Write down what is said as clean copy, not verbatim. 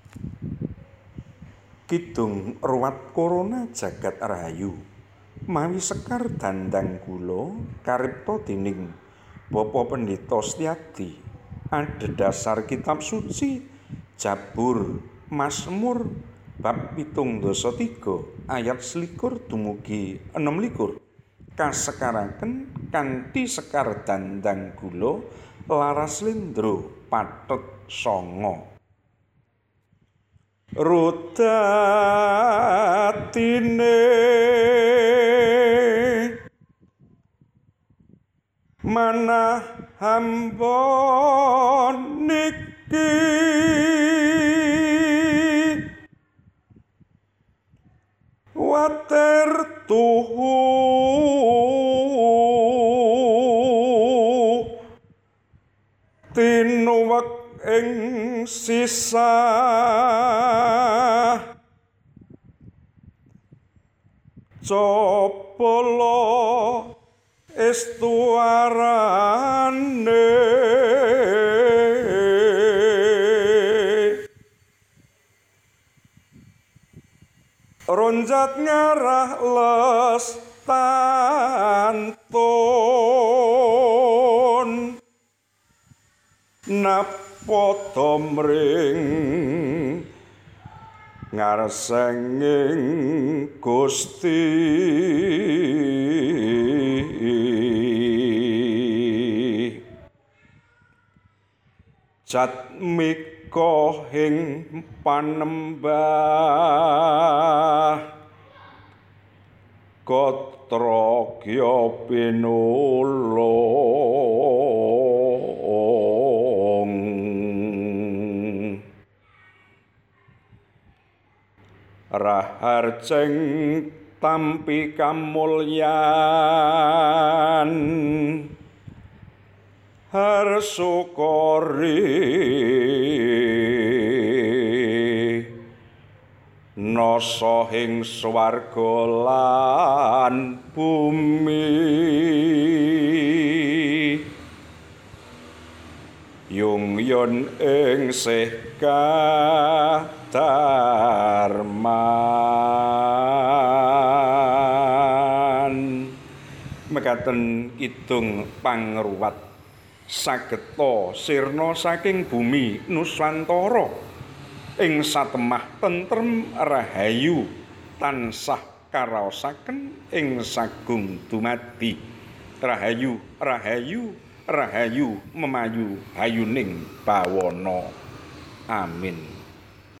Kidung ruwat korona jagat rahayu mawi sekar dandang kula karipta dening Bapak Pendeta Setyadi adhedhasar kitab suci Jabur Mazmur bab 73 ayat 21 dumugi 26 kasekaraken kanthi sekar dandang kula laras lendra pathet sanga rudatine manah hamba niki water tuhu tinuwek ing sisa copolo estuarane ronjat ngarah lestantun napoto mring ngarsenging Gusti jatmika ing panembah Gotrogya pinulung raharjeng tampi kamulyan harsukori nasa ing swarga lan bumi yung-yun ing sih kadarman mekaten kidung pangruwat sageta sirna saking bumi Nusantara ing satemah tentrem rahayu tansah karaosaken ing sagung dumadi rahayu rahayu rahayu memayu hayuning bawana amin.